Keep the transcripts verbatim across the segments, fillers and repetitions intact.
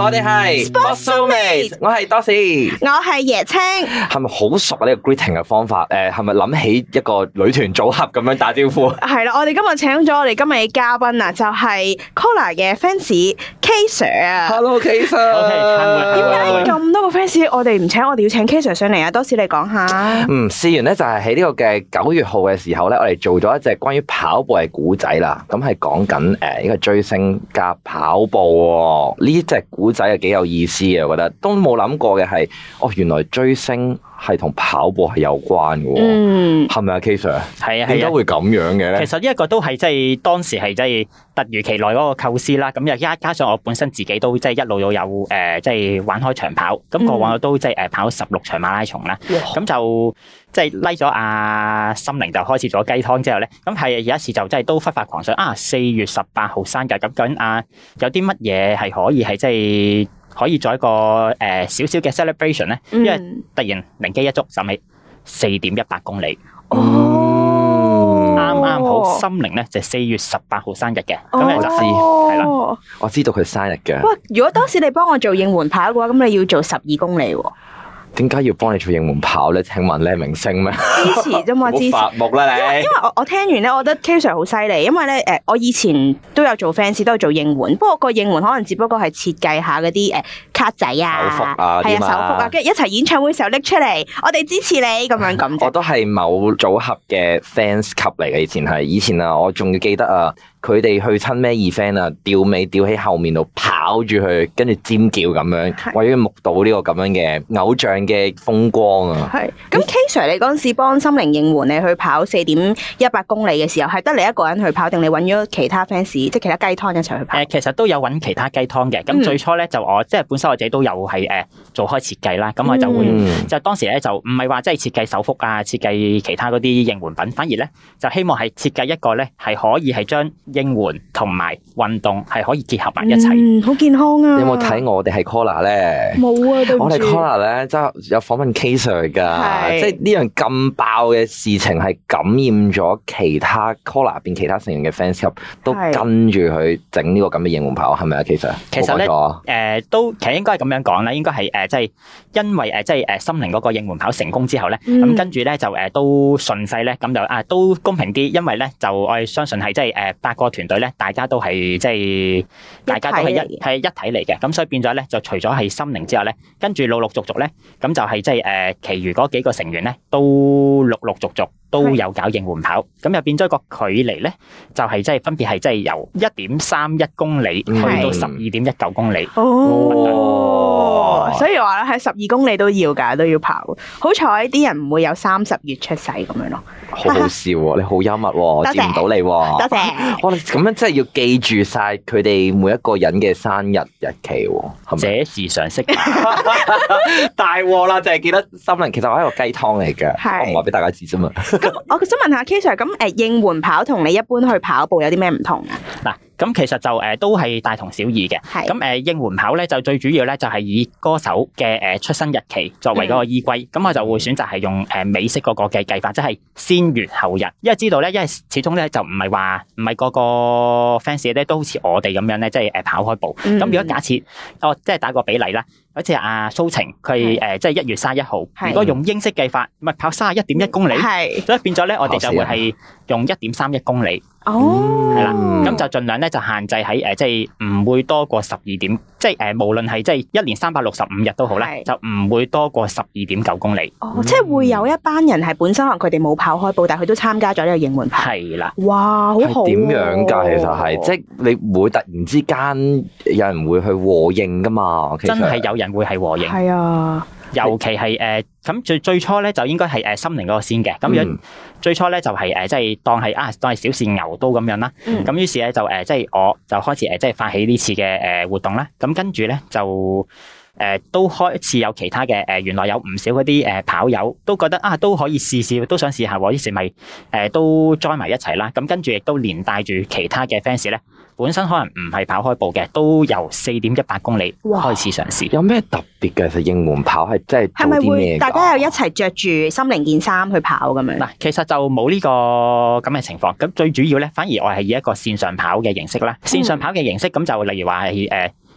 我哋係 Sportso-mate，我係多士， 我係椰青。 係咪好熟啊？呢個 greeting 嘅方法，誒，係咪諗起一個女團組合咁樣打招呼？係啦，我哋今日請咗我哋今日嘅嘉賓啊，就係 Collar 嘅 fans K Sir 啊。 Hello K Sir， 點解咁多個 fans 我哋唔請我哋要請 K Sir 上嚟啊？多士你講下。 嗯，事緣咧就係喺呢個嘅九月號嘅時候咧，我哋做咗一隻關於跑步嘅古仔啦。咁係講緊誒呢個追星加跑步呢隻古仔係幾有意思嘅，我覺得都冇諗過嘅係，哦，原來追星係同跑步係有關嘅。嗯，係咪啊 K Sir？ 係啊，點解會咁樣嘅咧？ 其實呢一個都係即係當時係即係突如其來嗰個構思啦。咁又加加上我本身自己都即係一路都有誒即係玩開長跑，咁過往我都即係誒跑十六場馬拉松啦。咁、嗯、就即係拉咗阿心凌就開始咗雞湯之後咧，咁係有一次就即係都忽發狂想啊！四月十八號生日咁究竟啊有啲乜嘢係可以係即係可以做一個誒少少嘅 celebration 咧？因為突然靈機一觸，諗起四點一八公里。哦，啱啱好心凌咧就四月十八號生日嘅，咁你就知係啦。 我知道佢生日嘅。 哇！如果當時你幫我做應援跑嘅話，咁你要做十二公里喎。 點解要幫你做應援跑咧？請問你係明星咩？ 支持啫嘛，支持。 發目啦你。 因為因為我我聽完咧，我覺得 K Sir 好犀利，因為咧誒，我以前都有做 fans，都有做應援，不過個應援可能只不過係設計下嗰啲誒卡仔啊、 手幅啊、 係啊手幅啊，跟住一齊演唱會時候拎出嚟，我哋支持你咁樣咁。 我都係某組合嘅 fans 級嚟嘅，以前係以前啊，我仲要記得啊。佢哋去親咩 event 啊，吊尾吊喺後面度跑住去，跟住尖叫咁樣，為咗目睹呢個咁樣嘅偶像嘅風光啊！係咁 K Sir，你嗰陣時幫心凌應援你去跑四點一八公里嘅時候，係得你一個人去跑，定你揾咗其他 fans，即係其他雞湯一齊去跑？ 誒，其實都有揾其他雞湯嘅。咁最初咧就我即係本身我自己都有係誒做開設計啦，咁我就會就當時咧就唔係話即係設計手幅啊，設計其他嗰啲應援品，反而咧就希望係設計一個咧係可以係將應援同埋運動係可以結合埋一齊， 嗯，好健康啊！ 你有冇睇我哋係 Collar 咧？ 冇啊，對唔住。我哋 Collar 咧，即係有訪問 K Sir 噶，即係呢樣咁爆嘅事情係感染咗其他 Collar 入邊其他成員嘅 fans club，都跟住佢整呢個咁嘅應援跑，係咪啊 K Sir？ 其實咧，誒、呃、都其實應該係咁樣講啦，應該係誒即係因為誒即係誒心凌嗰個應援跑成功之後咧，咁、嗯、跟住咧就誒都順勢咧，咁就啊都公平啲，因為咧就我哋相信係即係誒八個團隊咧。大家都係即係，大家都係一係一體嚟嘅，咁所以變咗咧，就除咗係心凌之後咧，跟住陸陸續續咧，咁就係即係誒，其餘嗰幾個成員咧，都陸陸續續都有搞應援跑，咁又變咗個距離咧，就係即係分別係即係由一點三一公里去到十二點一九公里。哦， 所以話咧喺十二公里都要㗎，都要跑。好彩啲人唔會有三十月出世咁樣咯。 好好笑喎，你好幽默喎，見唔到你喎。多謝。我哋咁樣真係要記住晒佢哋每一個人嘅生日日期喎，係咪？ 這是常識。 大鑊啦，就係記得心凌，其實我係一個雞湯嚟嘅，我唔話俾大家知啫嘛。 咁我想問下 K Sir，咁誒應援跑同你一般去跑步有啲咩唔同啊？ 嗱。咁其實就誒都係大同小異嘅。咁誒應援跑咧就最主要咧就係以歌手嘅誒出生日期作為嗰個依歸。咁、嗯、我就會選擇係用誒美式嗰個嘅計法，即係先閱後日。因為知道咧，因為始終咧就唔係話唔係個個 fans 咧都好似我哋咁樣咧，即係誒跑開步。咁、嗯、如果假設我即係打個比例啦，好似阿蘇晴佢誒即係一月三十一號，如果用英式計法，咪跑三十一點一公里，所以變咗咧我哋就會係用一點三一公里。哦，係啦，咁就盡量咧就限制喺誒，即係唔會多過十二點，即係誒，無論係即係一年三百六十五日都好啦，就唔會多過十二點九公里。 哦，即係會有一班人係本身可能佢哋冇跑開步，但係佢都參加咗呢個應援跑。 係啦， 哇，好好。 點樣噶？其實係，即係你會突然之間有人會去和應噶嘛？ 真係有人會係和應。 係啊。 尤其係誒咁最最初咧就應該係誒心凌嗰個先嘅，咁樣最初咧就係誒即係當係啊當係小試牛刀咁樣啦，咁、嗯、於是咧就誒即係我就開始誒即係發起呢次嘅誒活動啦，咁跟住咧就誒、呃、都開始有其他嘅誒原來有唔少嗰啲誒跑友都覺得啊都可以試試，都想試下喎，於是咪誒都 join 埋一齊啦，咁跟住亦都連帶住其他嘅 fans 咧。本身可能唔係跑開步嘅，都由四點一八公里開始嘗試。 有咩特別嘅？其實應援跑係真係做啲咩？係咪會大家又一齊着住心凌件衫去跑咁樣？ 嗱，其實就冇呢個咁嘅情況。咁最主要咧，反而我係以一個線上跑嘅形式啦。線上跑嘅形式咁就例如話係誒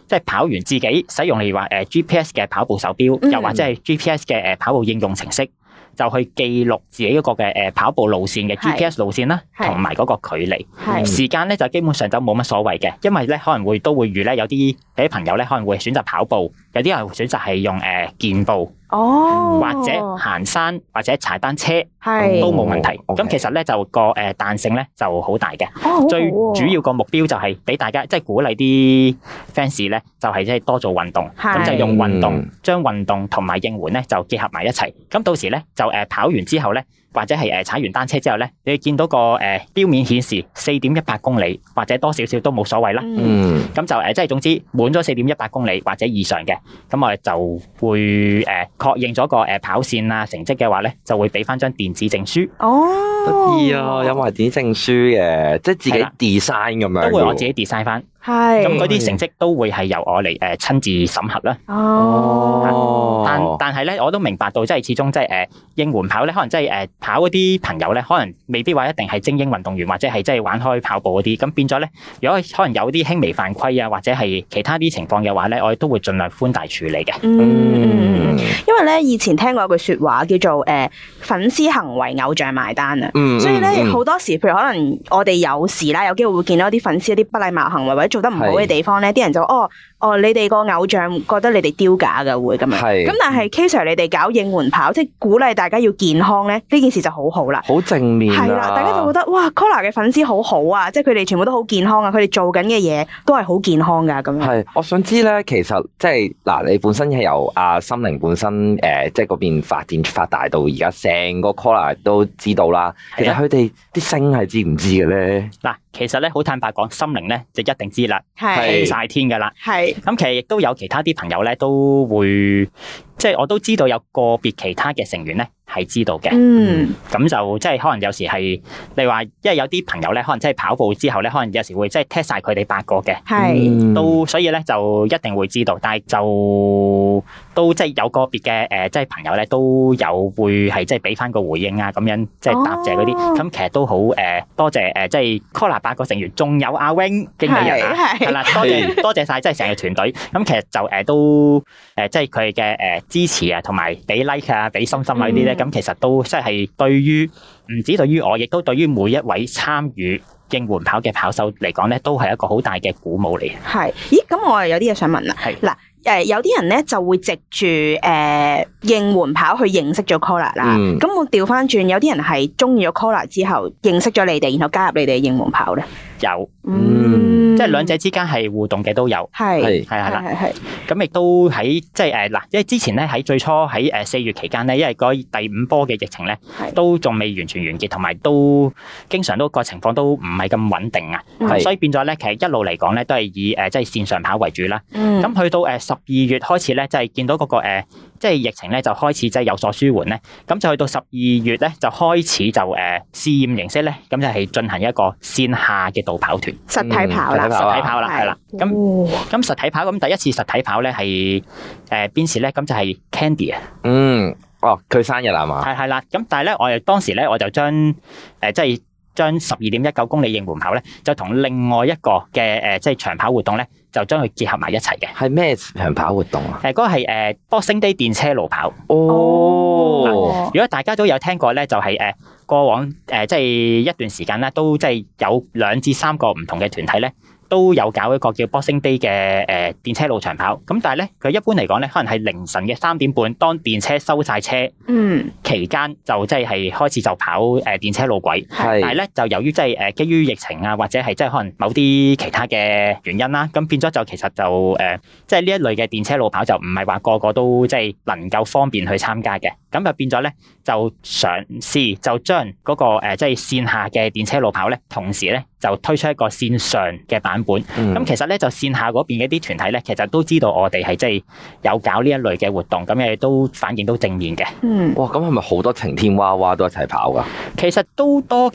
即係跑完自己使用例如話誒 G P S 嘅跑步手錶， 嗯、 又或者係 G P S 嘅誒跑步應用程式，就去記錄自己一個嘅誒跑步路線嘅 G P S 路線啦，同埋嗰個距離。時間咧就基本上就冇乜所謂嘅，因為咧可能會都會預咧有啲有啲朋友咧可能會選擇跑步，有啲人會選擇係用誒健步。 哦， 或者行山或者踩單車係都冇問題。咁、 哦 okay. 其實咧就個誒彈性咧就好大嘅。 哦、 最主要個目標就係俾大家即係、就是、鼓勵啲 fans 咧，就係即係多做運動，咁就用運動將運動同埋應援咧就結合埋一齊。咁到時咧就誒跑完之後咧，或者係誒踩完單車之後咧，你見到個誒標面顯示四點一八公里或者多少少都冇所謂啦。 嗯， 咁就誒即係總之滿咗四點一八公里或者以上嘅，咁我哋就會誒確認咗個誒跑線啊成績嘅話咧，就會俾翻張電子證書。 哦， 得意啊，有埋電子證書嘅，即係自己 design 咁樣。 都會我自己 design 翻。 係。 咁嗰啲成績都會係由我嚟誒親自審核啦。 哦。 但但係咧，我都明白到，即係始終即係誒應援跑咧，可能即係誒跑嗰啲朋友咧，可能未必話一定係精英運動員，或者係即係玩開跑步嗰啲。咁變咗咧，如果可能有啲輕微犯規啊，或者係其他啲情況嘅話咧，我哋都會盡量寬大處理嘅。 嗯，因為咧以前聽過一句說話叫做誒、呃、粉絲行為偶像埋單啊。嗯、所以咧好、嗯、多時，譬如可能我哋有時啦，有機會會見到啲粉絲一啲不禮貌行為或者做得唔好嘅地方咧，啲人就哦。哦，你哋個偶像覺得你哋丟架嘅會咁樣，咁但係 K Sir 你哋搞應援跑，即係鼓勵大家要健康咧，呢件事就好好啦， 好正面啊， 係啦，大家就覺得哇 Collar 嘅粉絲好好啊，即係佢哋全部都好健康啊，佢哋做緊嘅嘢都係好健康噶咁樣。 係，我想知咧，其實即係嗱，你本身係由阿心靈本身誒、呃，即係嗰邊發展發大到而家，成個 Collar 都知道啦。其實佢哋啲星係知唔知嘅咧？嗱， 其實咧好坦白講，心靈咧就一定知啦， 係晒天噶啦， 係。 咁其實亦都有其他啲朋友咧，都會即係我都知道有個別其他嘅成員咧係知道嘅。嗯，咁就即係可能有時係你話，因為有啲朋友咧，可能即係跑步之後咧，可能有時會即係踢晒佢哋八個嘅，係都所以咧就一定會知道，但係就都即係有個別嘅誒，即係朋友咧都有會係即係俾翻個回應啊，咁樣即係答謝嗰啲。咁、哦、其實都好誒，多謝誒，即係 Collar 八個成員，仲有阿 Wing 經理人啊，係啦，多謝多謝晒，即係成個團隊。咁其實就誒都誒，即係佢嘅誒支持啊，同埋俾 like 啊，俾心心啊呢啲咧，咁、嗯、其實都即係對於唔止對於我，亦都對於每一位參與應援跑嘅跑手嚟講咧，都係一個好大嘅鼓舞嚟。 係，咦？咁我又有啲嘢想問啦。係嗱。誒，有啲人咧就會藉住誒應援跑去認識咗 Collar 啦。咁、嗯、我調翻轉，有啲人係中意咗 Collar 之後認識咗你哋，然後加入你哋嘅應援跑咧。有，嗯，即係兩者之間係互動嘅都有。係係係啦，係係。咁亦都喺即係誒嗱，因為之前咧喺最初喺誒四月期間咧，因為嗰第五波嘅疫情咧，都仲未完全完結，同埋都經常都個情況都唔係咁穩定啊。所以變咗咧，其實一路嚟講咧，都係以誒即係線上跑為主啦。咁、嗯、去到誒十二月開始咧，即係見到嗰個誒，即係疫情咧就開始即係有所舒緩咧。咁就去到十二月咧，就開始就誒試驗形式咧，咁就係進行一個線下嘅導跑團，實體跑啦，實體跑啦，係啦。咁咁實體跑咁第一次實體跑咧係誒邊時咧？咁就係 Candy 啊。嗯，哦，佢生日係嘛？係係啦。咁但係咧，我哋當時咧，我就將誒即係將十二點一九公里應援跑咧，就同另外一個嘅誒即係長跑活動咧，就將佢結合埋一齊嘅。係咩長跑活動啊？誒，嗰個係誒 Boxing Day 電車路跑。哦，如果大家都有聽過咧，就係誒過往誒即係一段時間咧，都即係有兩至三個唔同嘅團體咧，都有搞一個叫 Boxing Day 嘅誒電車路長跑。咁但係咧，佢一般嚟講咧，可能係凌晨嘅三點半，當電車收晒車，嗯，期間就即係係開始就跑誒電車路軌。係，但係咧就由於即係誒基於疫情啊，或者係即係可能某啲其他嘅原因啦，咁變咗就其實就誒即係呢一類嘅電車路跑就唔係話個個都即係能夠方便去參加嘅。咁就變咗咧，就嘗試就將嗰個誒即係線下嘅電車路跑咧，同時咧就推出一個線上嘅版本。咁、嗯、其實咧就線下嗰邊嘅啲團體咧，其實都知道我哋係即係有搞呢一類嘅活動，咁亦都反應都正面嘅。嗯，哇，咁係咪好多晴天娃娃都一齊跑噶？其實都多嘅。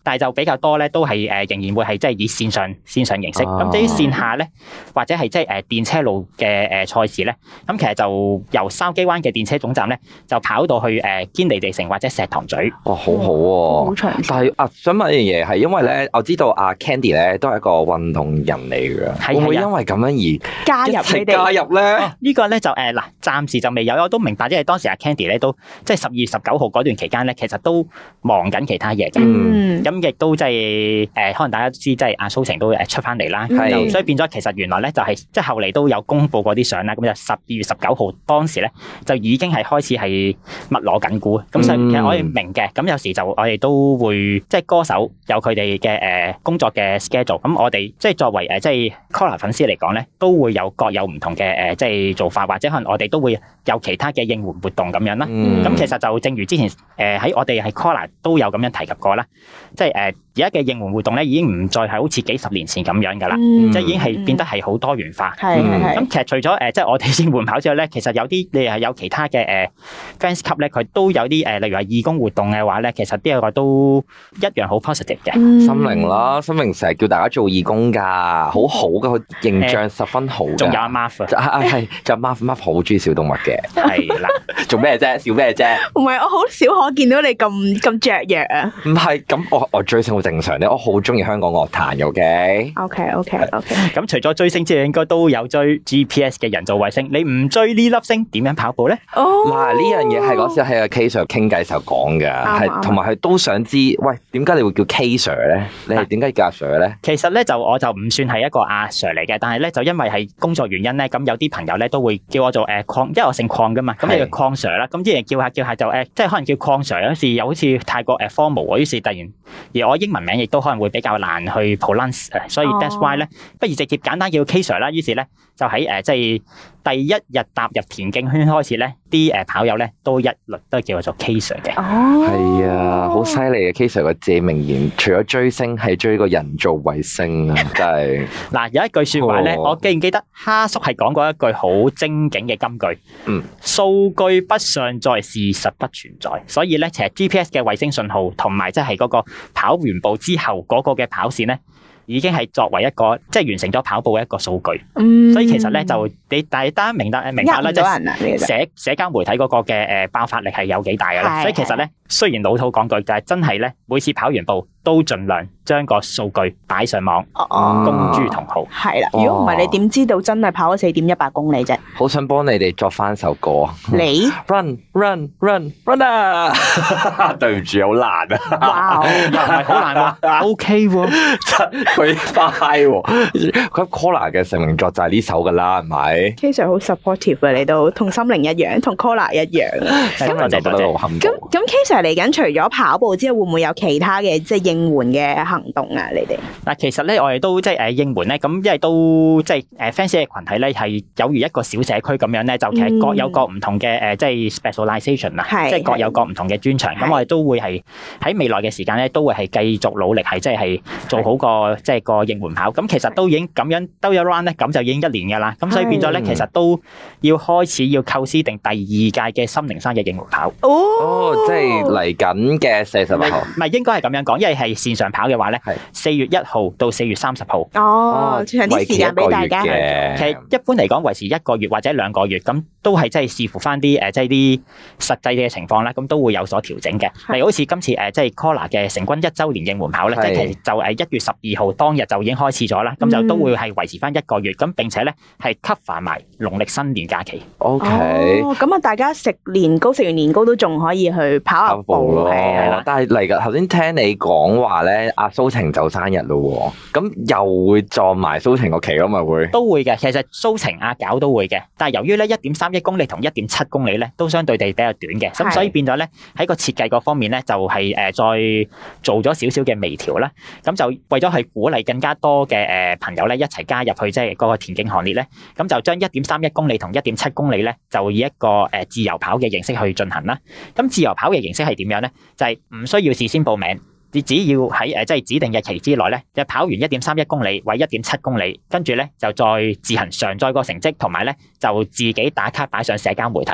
但係就比較多咧，都係誒仍然會係即係以線上線上形式。咁至於線下咧，或者係即係誒電車路嘅誒賽事咧，咁其實就由筲箕灣嘅電車總站咧，就跑到去誒堅尼地城或者石塘咀。 哇，好好喎！好長。但係啊，想問一樣嘢係，因為咧，我知道阿 Candy 咧都係一個運動人嚟嘅，會唔會因為咁樣而加入你哋加入咧？ 呢個咧就誒嗱，暫時就未有，我都明白，因為當時阿 Candy 咧都即係十二月十九號嗰段期間咧，其實都忙緊其他嘢嘅。嗯。咁亦都即係誒，可能大家都知，即係阿蘇晴都誒出翻嚟啦。係。所以變咗，其實原來咧就係即係後嚟都有公布過啲相啦。咁就十二月十九號當時咧就已經係開始係密鑼緊鼓。咁所以其實我哋明嘅。咁有時就我哋都會即係歌手有佢哋嘅誒工作嘅 schedule。咁我哋即係作為誒即係 Collar 粉絲嚟講咧，都會有各有唔同嘅誒即係做法，或者可能我哋都會有其他嘅應援活動咁樣啦。咁、嗯、其實就正如之前誒喺我哋係 Collar 都有咁樣提及過啦，即係誒而家嘅應援活動咧已經唔再係好似幾十年前咁樣噶啦，嗯、即係已經係變得係好多元化。咁、嗯、其實除咗誒即係我哋應援跑之外咧，其實有啲你係有其他嘅誒 fans club 咧，佢都有啲誒例如話義工活動嘅話咧，其實啲個都一樣好 positive 嘅。 心靈啦，心靈成日叫大家做義工噶，好好噶，佢形象十分好。 仲有阿 Marv 啊，係就 Marv，Marv 好中意小動物嘅。 係啦， 做咩啫？笑咩啫？ 唔係，我好少可見到你咁咁雀躍啊！ 唔係，咁我我追星好正常咧，我好中意香港樂壇嘅。OK OK OK OK。 咁除咗追星之外，應該都有追 G P S 嘅人造衛星。你唔追呢粒星，點樣跑步咧？ 哦， 嗱，呢樣嘢係嗰時喺阿 K Sir 傾偈時候講嘅，係同埋佢都想知，喂，點解你會叫 K Sir 咧？你係點解叫阿 Sir 咧？ 其實咧就我就唔算係一個阿 Sir 嚟嘅，但係咧就因為係工作原因咧，咁有啲朋友咧都會叫我做誒礦，因為我姓礦噶嘛，咁你叫礦 Sir 啦，咁啲人叫下叫下就誒，即係可能叫礦 Sir 有時又好似太過誒 formal 喎，於是突然而我英文名亦都可能會比較難去 pronounce，所以 that's why 咧，不如直接簡單叫 K Sir 啦。於是咧就喺誒即係第一日踏入田徑圈開始咧，啲誒跑友咧都一律都叫我做 K Sir 嘅。 哦， 係啊，好犀利嘅 K Sir 個自名言，除咗追星係追個人造衛星啊，真係。嗱， 有一句說話咧，我記唔記得哈叔係講過一句好精警嘅金句？嗯，數據不上載，事實不存在。所以咧，其實 G P S 嘅衛星信號同埋即係嗰個跑完步之後嗰個嘅跑線咧，已經係作為一個即係完成咗跑步嘅一個數據。嗯，所以其實咧就你大家明白明白啦，即係社社交媒體嗰個嘅誒爆發力係有幾大嘅啦。所以其實咧，雖然老土講句，但係真係咧，每次跑完步都盡量將個數據擺上網，公諸同好。係啦， 如果唔係，你點知道真係跑咗四點一八公里啫？ 好想幫你哋作翻首歌。 你 run run run run 啊！對唔住，好難啊！ 哇，又唔係好難喎，OK 喎， 佢快喎。佢 Collar 嘅成名作就係呢首噶啦，係咪 ？K Sir 好 supportive 啊，你都同心靈一樣，同 Collar 一樣。 咁我就覺得好幸福。 咁咁 K Sir 嚟緊，除咗跑步之後，會唔會有其他嘅即係應援嘅行動啊？你哋嗱，其實咧，我哋都即係誒應援咧，咁因為都即係誒 fans 嘅群體咧，係有如一個小社區咁樣咧，就其實各有各唔同嘅誒，即係 specialization 啊，即係各有各唔同嘅專長。咁我哋都會係喺未來嘅時間咧，都會係繼續努力，係即係做好個即係個應援跑。咁其實都已經咁樣兜咗 round 咧，咁就已經一年噶啦。咁所以變咗咧，其實都要開始要構思定第二屆嘅心靈山嘅應援跑。 哦，即係嚟緊嘅四十八號。 唔係應該係咁樣講，因為係線上跑嘅話咧，係四月一號到四月三十號。 哦，長啲時間俾大家。 其實一般嚟講，維持一個月或者兩個月，咁都係即係視乎翻啲誒，即係啲實際嘅情況啦，咁都會有所調整嘅。例如好似今次誒，即係 Collar 嘅成軍一周年應援跑咧，即係其實就誒一月十二號當日就已經開始咗啦，咁就都會係維持翻一個月，咁並且咧係 cover 埋農曆新年假期。 OK， 咁啊，大家食年糕，食完年糕都仲可以去跑下步咯。 係啦，但係嚟噶頭先聽你講話咧，阿蘇晴就生日咯，咁又會撞埋蘇晴個期咯，咪會都會嘅。其實蘇晴阿搞都會嘅，但係由於咧一點三一公里同一點七公里咧都相對地比較短嘅，咁所以變咗咧喺個設計嗰方面咧就係誒再做咗少少嘅微調啦。咁就為咗去鼓勵更加多嘅誒朋友咧一齊加入去即係嗰個田徑行列咧，咁就將一點三一公里同一點七公里咧就以一個誒自由跑嘅形式去進行啦。咁自由跑嘅形式係點樣咧？就係唔需要事先報名。你只要喺誒即係指定日期之內咧，就跑完一點三一公里或一點七公里，跟住咧就再自行上載個成績，同埋咧就自己打卡擺上社交媒體。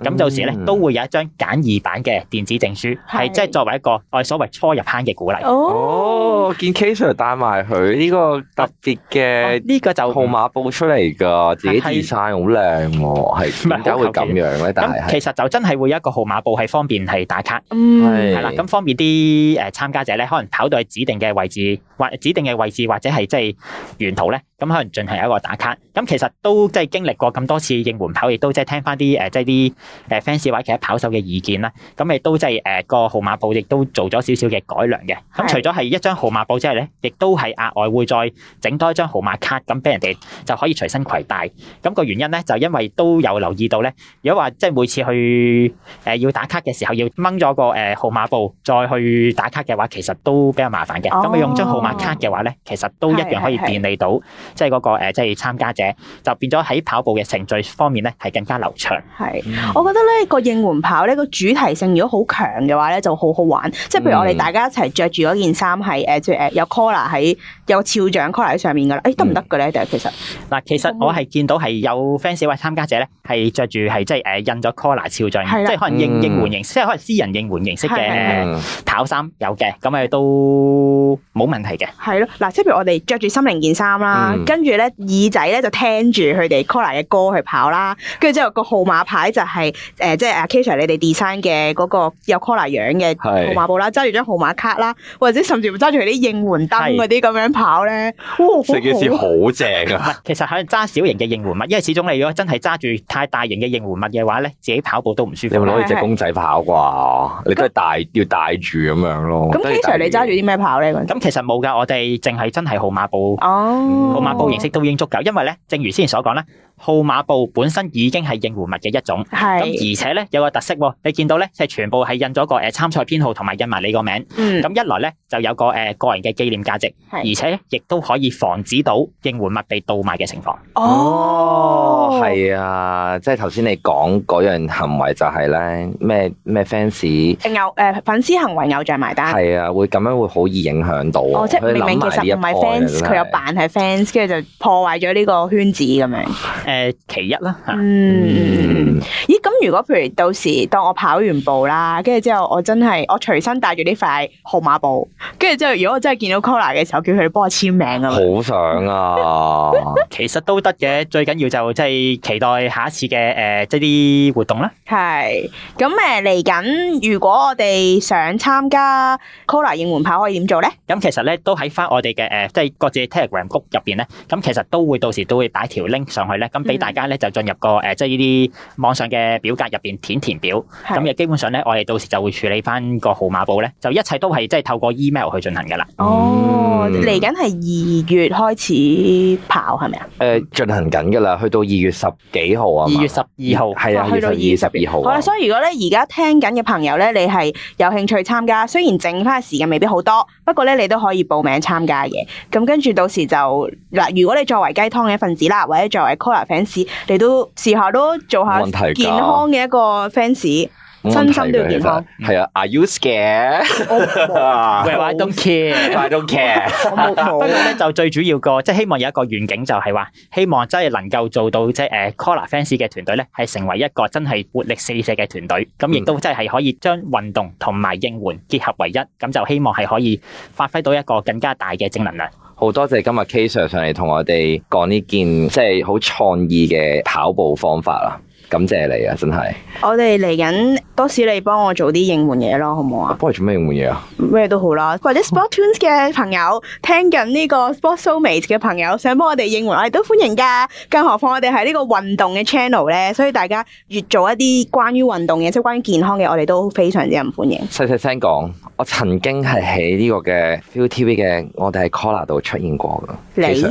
咁到時咧都會有一張簡易版嘅電子證書，係即係作為一個我哋所謂初入坑嘅鼓勵。 哦，見 K Sir 帶埋佢呢個特別嘅呢個就號碼布出嚟噶，自己 design 好靚喎，係點解會咁樣咧？但係其實就真係會有一個號碼布係方便係打卡， 嗯， 係啦，咁方便啲誒參加者咧，可能跑到去指定嘅位置或指定嘅位置或者係即係沿途咧，咁可能進行一個打卡。咁其實都即係經歷過咁多次應援跑，亦都即係聽翻啲誒即係啲誒 fans 或者其他跑手嘅意見啦。咁亦都即係誒個號碼布亦都做咗少少嘅改良嘅。咁除咗係一張號碼布之外咧，亦都係額外會再整多一張號碼卡，咁俾人哋就可以隨身攜帶。咁個原因咧就因為都有留意到咧，如果話即係每次去誒要打卡嘅時候要掹咗個誒號碼布再去打卡嘅話，其實都比較麻煩嘅。咁你用張號碼卡嘅話咧，其實都一樣可以便利到即係嗰個誒即係參加者，就變咗喺跑步嘅程序方面咧係更加流暢。 係，我覺得咧個應援跑咧個主題性如果好強嘅話咧就好好玩。即係譬如我哋大家一齊着住嗰件衫係誒即係誒有 collar 喺有肖像 collar 喺上面噶啦，誒得唔得嘅咧？定係其實嗱， 其實我係見到係有 fans 或參加者咧係着住係即係誒印咗 collar 肖像，即係可能應應援形式，即係可能私人應援形式嘅跑衫有嘅，咁誒都冇問題嘅。係咯， 嗱，即係譬如我哋着住心靈件衫啦，跟住咧耳仔咧就聽住佢哋 collar 嘅歌去跑啦，跟住之後個號碼牌就係誒即係阿 K Sir 你哋 design 嘅嗰個有 collar 樣嘅號碼布啦，揸住張號碼卡啦，或者甚至乎揸住佢啲應援燈嗰啲咁樣跑咧，哇！ 成件事好正啊！ 其實係揸小型嘅應援物，因為始終你如果真係揸住太大型嘅應援物嘅話咧，自己跑步都唔舒服。 你咪攞住隻公仔跑啩？你都係帶要帶住咁樣咯。 咁 K Sir 你揸住啲咩跑咧？ 咁其實冇㗎，我哋淨係真係號碼布，號碼布形式都已經足夠。因為咧，正如先前所講咧，號碼布本身已經係應援物嘅一種。係。咁而且咧有個特色喎，你見到咧係全部係印咗個誒參賽編號同埋印埋你個名。嗯。咁一來咧就有個誒個人嘅紀念價值，而且亦都可以防止到應援物被盜賣嘅情況。 哦，係啊，即係頭先你講嗰樣行為就係咧咩咩 fans 偶誒粉絲行為偶像埋單。係啊，會咁樣會好易影響到。哦， 即係明明其實唔係 fans，佢又扮係 fans，跟住就破壞咗呢個圈子咁樣。 誒，其一啦嚇。 嗯。咦？咁如果譬如到時當我跑完步啦，跟住之後我真係我隨身帶住呢塊號碼布，跟住之後如果我真係見到 collar 嘅時候，叫佢哋幫我簽名啊。 好想啊！ 其實都得嘅，最緊要就即係期待下一次嘅誒，即係啲活動啦。 係咁誒，嚟緊如果我哋想參加 collar 應援跑，可以點做咧？ 咁其實咧都喺翻我哋嘅誒，即係各自 Telegram group 入邊咧，咁其實都會到時都會擺條 link 上去咧，咁俾大家咧就進入個誒，即係呢啲網上嘅表格入邊填填表。咁亦基本上咧，我哋到時就會處理翻個號碼布咧，就一切都係即係透過 email 去進行噶啦。 哦，嚟緊係二月開始跑係咪啊？ 誒，進行緊噶啦，去到二月十幾號啊？ 二月十二號係啊，去到二月十二號。 好啦，所以如果咧而家聽緊嘅朋友咧，你係有興趣參加，雖然剩翻嘅時間未必好多，不過咧你都可以報名參加嘅。咁跟住到時就嗱，如果你作為雞湯嘅一份子啦，或者作為 collar fans，你都試下都做下健康嘅一個 fans。身心都要健康。 係啊 ，Are you scared？Well, I don't care. I don't care. 不過咧就最主要個，即係希望有一個願景，就係話希望真係能夠做到即係誒 collar fans 嘅團隊咧，係成為一個真係活力四射嘅團隊。咁亦都真係可以將運動同埋應援結合為一。咁就希望係可以發揮到一個更加大嘅正能量。 好多謝今日 K Sir 上嚟同我哋講呢件即係好創意嘅跑步方法啦。感謝你啊，真係！ 我哋嚟緊多士你幫我做啲應援嘢咯，好唔好啊？ 幫你做咩應援嘢啊？ 咩都好啦，或者 Sportunes 嘅朋友聽緊呢個 Sports Soulmates 嘅朋友想幫我哋應援，我哋都歡迎噶。更何況我哋係呢個運動嘅 channel 咧，所以大家越做一啲關於運動嘅，即係關於健康嘅，我哋都非常之唔歡迎。細細聲講，我曾經係喺呢個嘅 Viu T V 嘅，我哋喺 collar 度出現過噶。 你？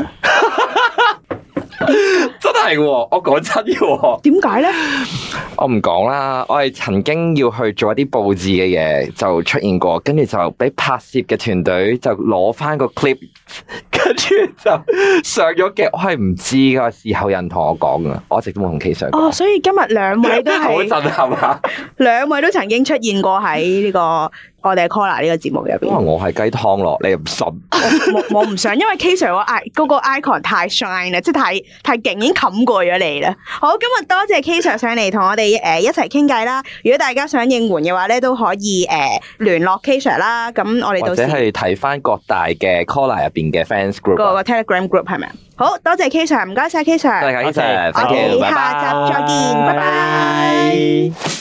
真係喎，我講真嘅。點解咧？ 我唔講啦。我係曾經要去做一啲佈置嘅嘢，就出現過，跟住就俾拍攝嘅團隊就攞翻個 clip，跟住就上咗嘅。我係唔知噶，事後有人同我講噶，我一直都冇同 K Sir 講。 哦，所以今日兩位都係好震撼啊！ 兩位都曾經出現過喺呢個我哋 collar 呢個節目入邊。 因為我係雞湯咯，你又唔信？ 我我唔想，因為 K Sir 個 i 嗰個 icon 太 shine 啦，即係太太勁，已經冚過咗你啦。好，今日多謝 K Sir 上嚟同我哋誒一齊傾偈啦。如果大家想應援嘅話咧，都可以誒聯絡 K Sir 啦。咁我哋到時或者係睇翻各大嘅 Collar 入邊嘅 fans group 個個 Telegram group 係咪啊？好多謝 K Sir，唔該晒 K Sir，多謝 K Sir，我哋下集再見，拜拜。